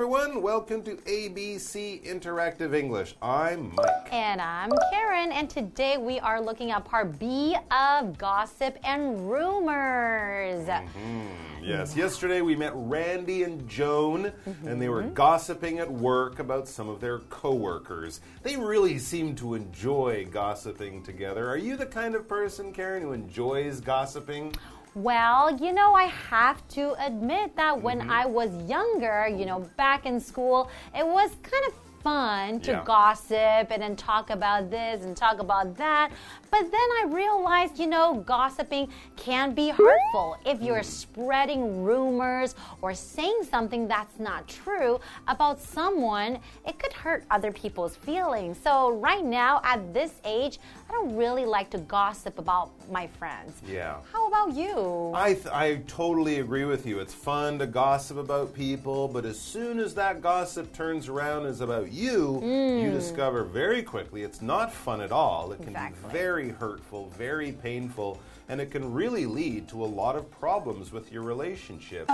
everyone. Welcome to ABC Interactive English. I'm Mike. And I'm Karen. And today we are looking at part B of Gossip and Rumors. Yes, yesterday we met Randy and Joan, and they were gossiping at work about some of their co-workers. They really seem to enjoy gossiping together. Are you the kind of person, Karen, who enjoys gossiping? Well, I have to admit that when I was younger, back in school, it was kind of fun to gossip and then talk about this and talk about that. But then I realized, gossiping can be hurtful. If you're spreading rumors or saying something that's not true about someone, it could hurt other people's feelings. So right now, at this age, I don't really like to gossip about my friends. Yeah. How about you? I totally agree with you. It's fun to gossip about people, but as soon as that gossip turns around and is about you, you discover very quickly it's not fun at all. It can be very hurtful, very painful, and it can really lead to a lot of problems with your relationships.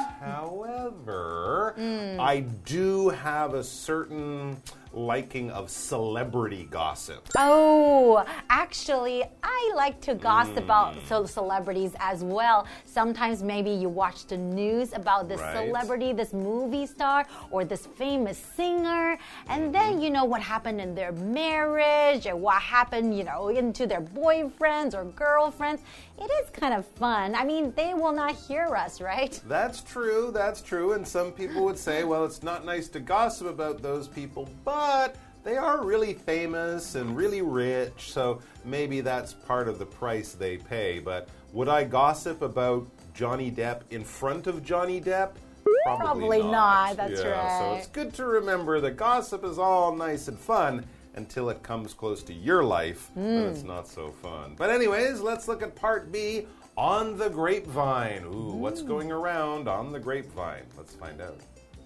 However, I do have a certain liking of celebrity gossip. Oh, actually, I like to gossip about celebrities as well. Sometimes maybe you watch the news about this celebrity, this movie star, or this famous singer, and then you know what happened in their marriage, or what happened, into their boyfriends or girlfriends. It is kind of fun. I mean, they will not hear us, right? That's true, and some people would say, well, it's not nice to gossip about those people, but they are really famous and really rich, so maybe that's part of the price they pay. But would I gossip about Johnny Depp in front of Johnny Depp? Probably not. That's right. So it's good to remember that gossip is all nice and fun until it comes close to your life, then it's not so fun. But anyways, let's look at part B, On the Grapevine. Ooh, what's going around on the grapevine? Let's find out.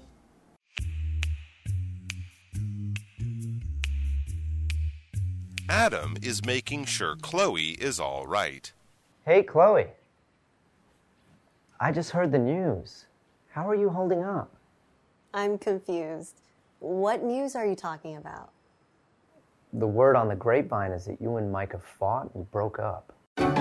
Adam is making sure Chloe is all right. Hey, Chloe. I just heard the news. How are you holding up? I'm confused. What news are you talking about? The word on the grapevine is that you and Mike have fought and broke up.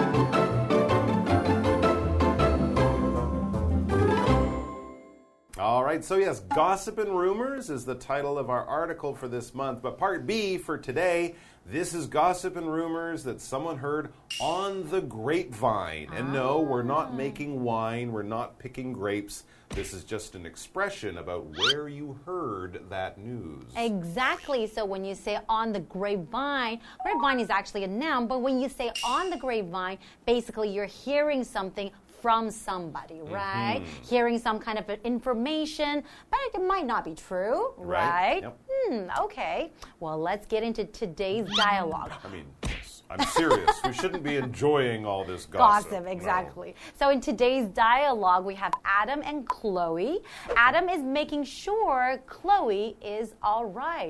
All right, so yes, Gossip and Rumors is the title of our article for this month. But part B for today, this is Gossip and Rumors that someone heard on the grapevine. And no, we're not making wine, we're not picking grapes. This is just an expression about where you heard that news. Exactly. So when you say on the grapevine, grapevine is actually a noun, but when you say on the grapevine, basically you're hearing something from somebody, right? Hearing some kind of information, but it might not be true, right? Yep. Okay. Well, let's get into today's dialogue. I mean, I'm serious. We shouldn't be enjoying all this gossip. Gossip, exactly. No. So in today's dialogue, we have Adam and Chloe. Adam is making sure Chloe is all right.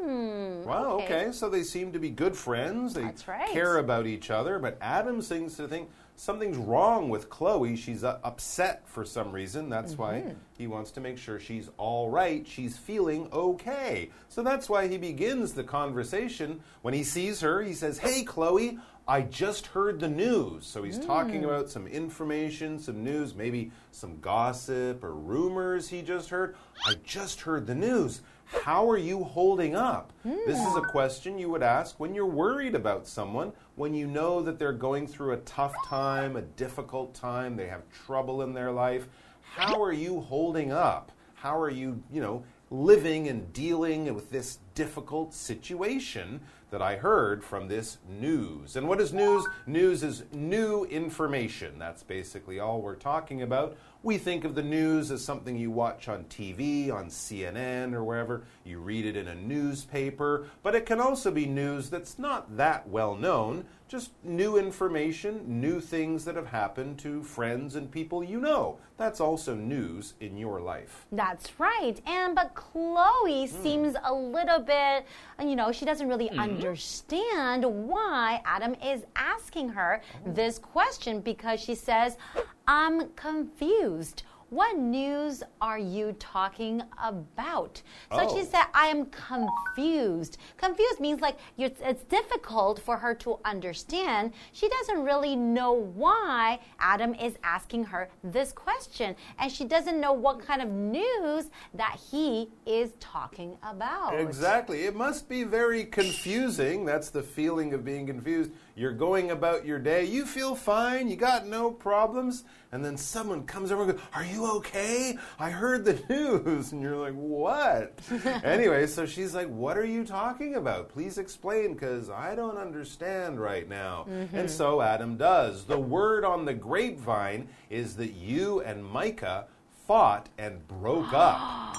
Well, okay. So they seem to be good friends. They care about each other, but Adam seems to think something's wrong with Chloe. She's upset for some reason. That's why he wants to make sure she's all right. She's feeling okay. So that's why he begins the conversation. When he sees her, he says, "Hey, Chloe, I just heard the news." So he's talking about some information, some news, maybe some gossip or rumors he just heard. I just heard the news. How are you holding up? This is a question you would ask when you're worried about someone, when you know that they're going through a tough time, a difficult time, they have trouble in their life. How are you holding up? How are you, living and dealing with this difficult situation that I heard from this news? And what is news? News is new information. That's basically all we're talking about. We think of the news as something you watch on TV, on CNN or wherever. You read it in a newspaper. But it can also be news that's not that well known. Just new information, new things that have happened to friends and people you know. That's also news in your life. That's right. But Chloe seems a little bit, she doesn't really understand why Adam is asking her this question, because she says, "I'm confused." what news are you talking about? So she said, I am confused. Confused means like it's difficult for her to understand. She doesn't really know why Adam is asking her this question. And she doesn't know what kind of news that he is talking about. Exactly. It must be very confusing. That's the feeling of being confused. You're going about your day. You feel fine. You got no problems. And then someone comes over and goes, are you okay? I heard the news. And you're like, what? Anyway, so she's like, what are you talking about? Please explain, because I don't understand right now. And so Adam does. The word on the grapevine is that you and Micah fought and broke up.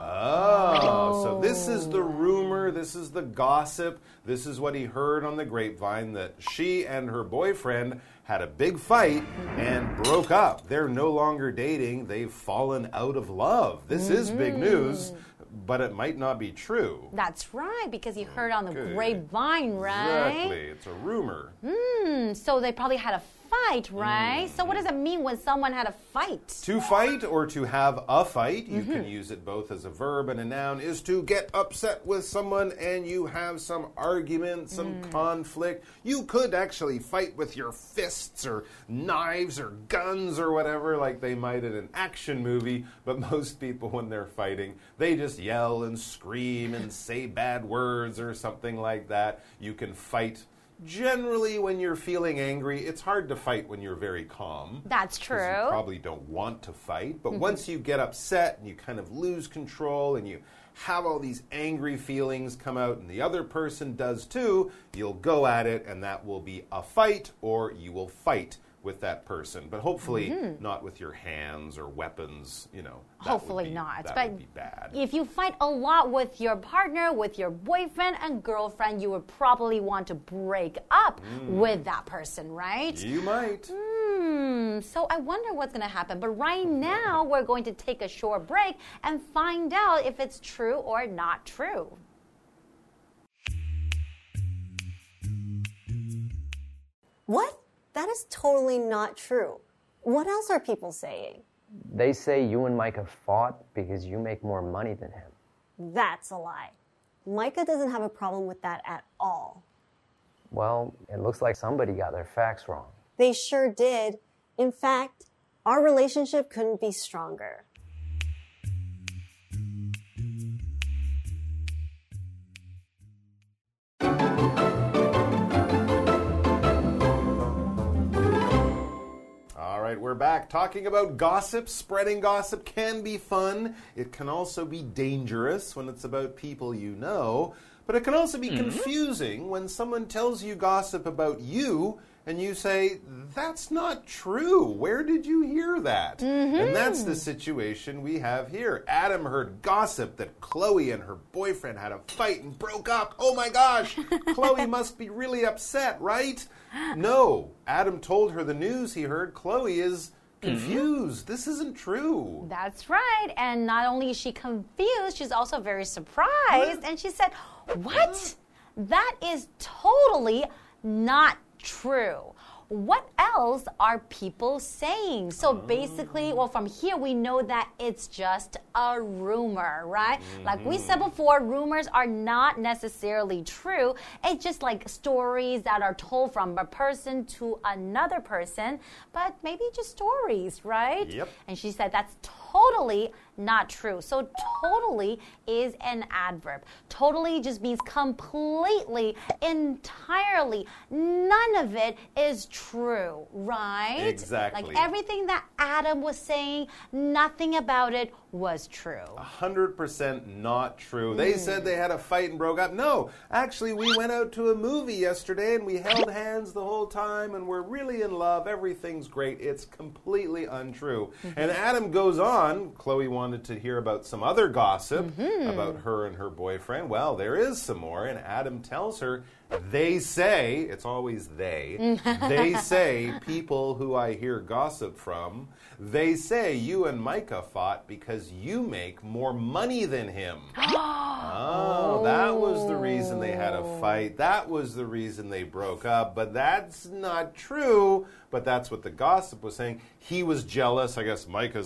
Oh, so this is the rumor, this is the gossip, this is what he heard on the grapevine, that she and her boyfriend had a big fight and broke up. They're no longer dating, they've fallen out of love. This is big news, but it might not be true. That's right, because you heard on the grapevine, right? Exactly, it's a rumor. So they probably had a fight, right? So what does it mean when someone had a fight? To fight or to have a fight, you can use it both as a verb and a noun, is to get upset with someone and you have some argument, some conflict. You could actually fight with your fists or knives or guns or whatever, like they might in an action movie, but most people when they're fighting, they just yell and scream and say bad words or something like that. You can fight. Generally, when you're feeling angry, it's hard to fight when you're very calm. That's true. You probably don't want to fight. But once you get upset and you kind of lose control and you have all these angry feelings come out and the other person does too, you'll go at it and that will be a fight, or you will fight with that person, but hopefully not with your hands or weapons, you know. Hopefully not. That would be bad. If you fight a lot with your partner, with your boyfriend and girlfriend, you would probably want to break up with that person, right? You might. So I wonder what's going to happen. But right now, we're going to take a short break and find out if it's true or not true. What? That is totally not true. What else are people saying? They say you and Micah fought because you make more money than him. That's a lie. Micah doesn't have a problem with that at all. Well, it looks like somebody got their facts wrong. They sure did. In fact, our relationship couldn't be stronger. We're back talking about gossip. Spreading gossip can be fun. It can also be dangerous when it's about people you know. But it can also be confusing when someone tells you gossip about you and you say, that's not true. Where did you hear that? And that's the situation we have here. Adam heard gossip that Chloe and her boyfriend had a fight and broke up. Oh my gosh, Chloe must be really upset, right? No, Adam told her the news he heard. Chloe is confused. This isn't true. That's right. And not only is she confused, she's also very surprised. And she said, what? That is totally not true. What else are people saying? So basically, well, from here we know that it's just a rumor, right? Like we said before, rumors are not necessarily true. It's just like stories that are told from a person to another person, but maybe just stories, right? Yep. And she said that's totally not true. So totally is an adverb. Totally just means completely, entirely. None of it is true, right? Exactly. Like everything that Adam was saying, nothing about it was true. 100% not true. They said they had a fight and broke up. No, actually, we went out to a movie yesterday and we held hands the whole time and we're really in love. Everything's great. It's completely untrue. And Adam goes on. Chloe wanted to hear about some other gossip about her and her boyfriend. Well, there is some more. And Adam tells her, they say, it's always they say, people who I hear gossip from, they say you and Micah fought because you make more money than him. Oh, that was the reason they had a fight. That was the reason they broke up. But that's not true. But that's what the gossip was saying. He was jealous. I guess Micah's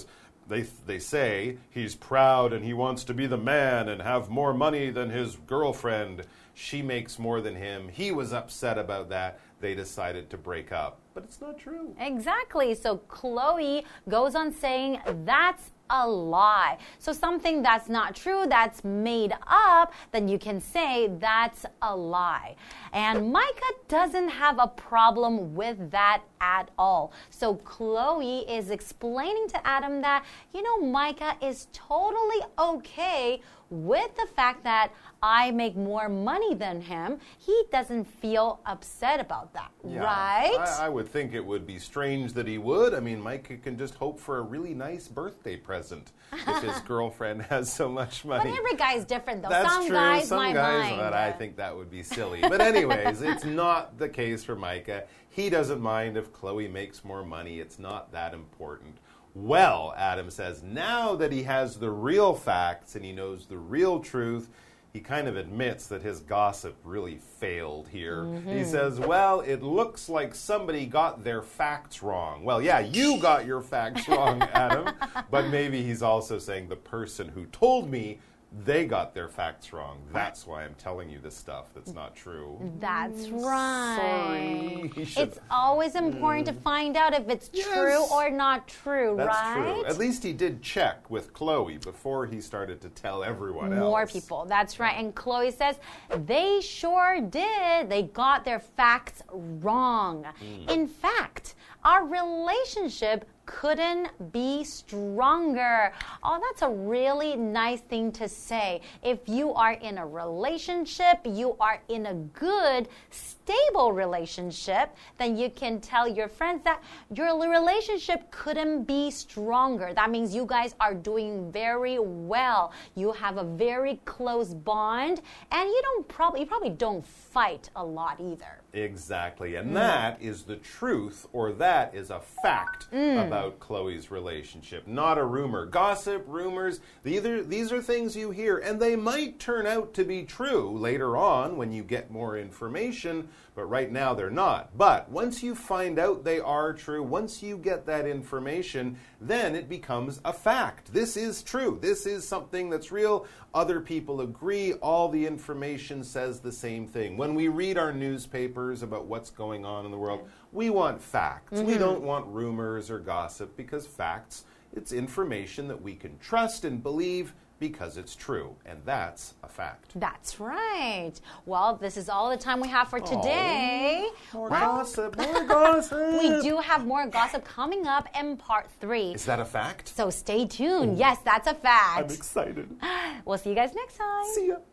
they say he's proud and he wants to be the man and have more money than his girlfriend. She makes more than him. He was upset about that. They decided to break up. But it's not true. Exactly. So Chloe goes on saying that's a lie. So something that's not true, that's made up, then you can say that's a lie. And Micah doesn't have a problem with that at all. So Chloe is explaining to Adam that, Micah is totally okay with the fact that I make more money than him. He doesn't feel upset about that, right? I would think it would be strange that he would. I mean, Micah can just hope for a really nice birthday present if his girlfriend has so much money. But every guy's different, though. That's some true. guys some might guys, mind. But I think that would be silly. But anyways, it's not the case for Micah. He doesn't mind if Chloe makes more money. It's not that important. Well, Adam says, now that he has the real facts and he knows the real truth, he kind of admits that his gossip really failed here. He says, well, it looks like somebody got their facts wrong. Well, yeah, you got your facts wrong, Adam. But maybe he's also saying the person who told me they got their facts wrong. That's why I'm telling you this stuff that's not true. That's right. Sorry. It's always important to find out if it's true or not true, that's right? True. At least he did check with Chloe before he started to tell everyone else. More people, that's right. And Chloe says, they sure did. They got their facts wrong. In fact, our relationship couldn't be stronger. Oh, that's a really nice thing to say. If you are in a relationship, you are in a good, stable relationship, then you can tell your friends that your relationship couldn't be stronger. That means you guys are doing very well. You have a very close bond, and you probably don't fight a lot either. Exactly. And that is the truth, or that is a fact about Chloe's relationship, not a rumor. Gossip, rumors, these are things you hear, and they might turn out to be true later on when you get more information, but right now they're not. But once you find out they are true, once you get that information, then it becomes a fact. This is true. This is something that's real. Other people agree. All the information says the same thing. When we read our newspapers about what's going on in the world, we want facts. We don't want rumors or gossip, because facts, it's information that we can trust and believe because it's true, and that's a fact. That's right. Well, this is all the time we have for today. More gossip, more gossip. We do have more gossip coming up in part 3. Is that a fact? So stay tuned. Yes, that's a fact. I'm excited. We'll see you guys next time. See ya.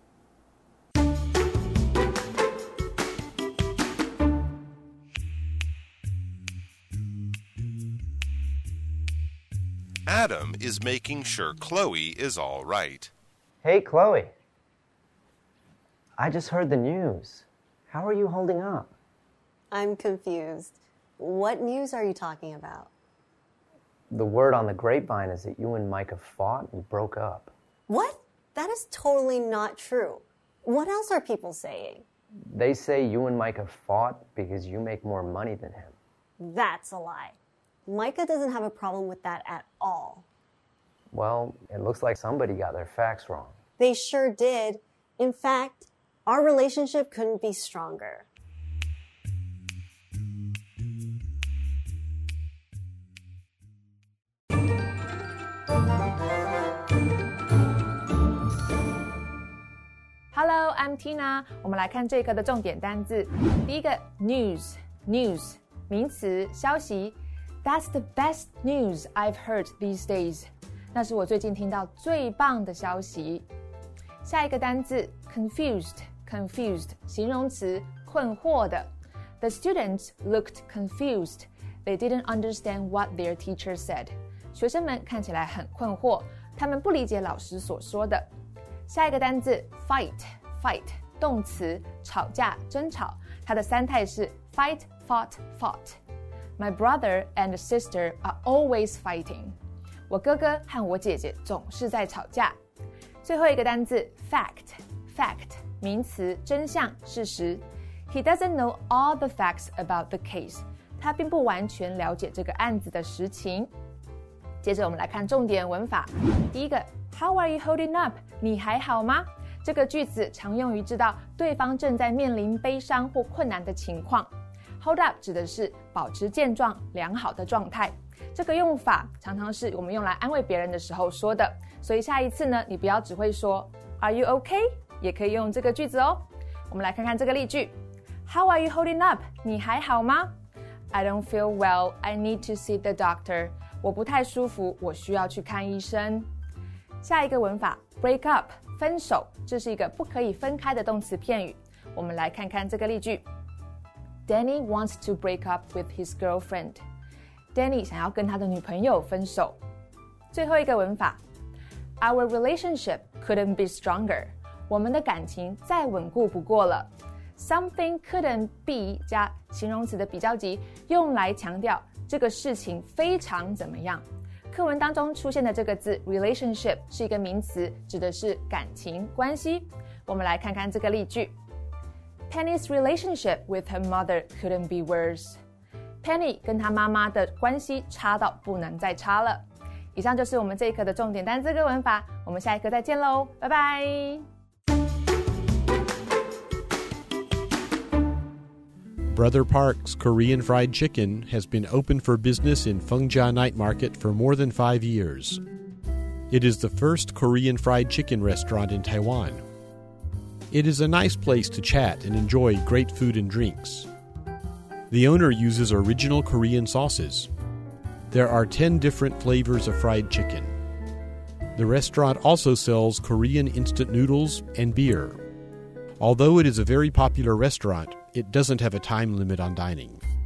Adam is making sure Chloe is all right. Hey, Chloe. I just heard the news. How are you holding up? I'm confused. What news are you talking about? The word on the grapevine is that you and Micah fought and broke up. What? That is totally not true. What else are people saying? They say you and Micah fought because you make more money than him. That's a lie. Micah doesn't have a problem with that at all. Well, it looks like somebody got their facts wrong. They sure did. In fact, our relationship couldn't be stronger. Hello, I'm Tina. 我们来看这一课的重点单字。第一个 news 名詞消息。That's the best news I've heard these days. 那是我最近听到最棒的消息。下一個單字 confused 形容詞困惑的。The students looked confused. They didn't understand what their teacher said. 學生們看起來很困惑，他們不理解老師所說的。下一個單字 fight 動詞吵架爭吵，它的三態是 fight, fought.My brother and sister are always fighting. 我哥哥和我姐姐總是在吵架。最後一個單字 fact 名詞真相事實。He doesn't know all the facts about the case. 他並不完全了解這個案子的實情。 接着我們來看重點文法。第一個 How are you holding up？ 你還好嗎？這個句子常用於知道對方正在面臨悲傷或困難的情況。Hold up 指的是保持健壯、良好的狀態。這個用法常常是我們用來安慰別人的時候說的，所以下一次呢，你不要只會說 Are you okay？ 也可以用這個句子哦。我們來看看這個例句 How are you holding up？ 你還好嗎？ I don't feel well. I need to see the doctor. 我不太舒服，我需要去看醫生。下一個文法 break up 分手，這是一個不可以分開的動詞片語。我們來看看這個例句 Danny wants to break up with his girlfriend. Danny 想要跟他的女朋友分手。最後一個文法 Our relationship couldn't be stronger. 我們的感情再穩固不過了。Something couldn't be 加形容詞的比較級，用來強調這個事情非常怎麼樣。課文當中出現的這個字 relationship 是一個名詞，指的是感情關係。我們來看看這個例句 Penny's relationship with her mother couldn't be worse. Penny 跟她媽媽的關係差到不能再差了。以上就是我們這一課的重點單字跟文法，我們下一課再見嘍，拜拜。 Brother Park's Korean Fried Chicken has been open for business in Fengjia Night Market for more than 5 years. It is the first Korean fried chicken restaurant in Taiwan. It is a nice place to chat and enjoy great food and drinks. The owner uses original Korean sauces. There are 10 different flavors of fried chicken. The restaurant also sells Korean instant noodles and beer. Although it is a very popular restaurant, it doesn't have a time limit on dining.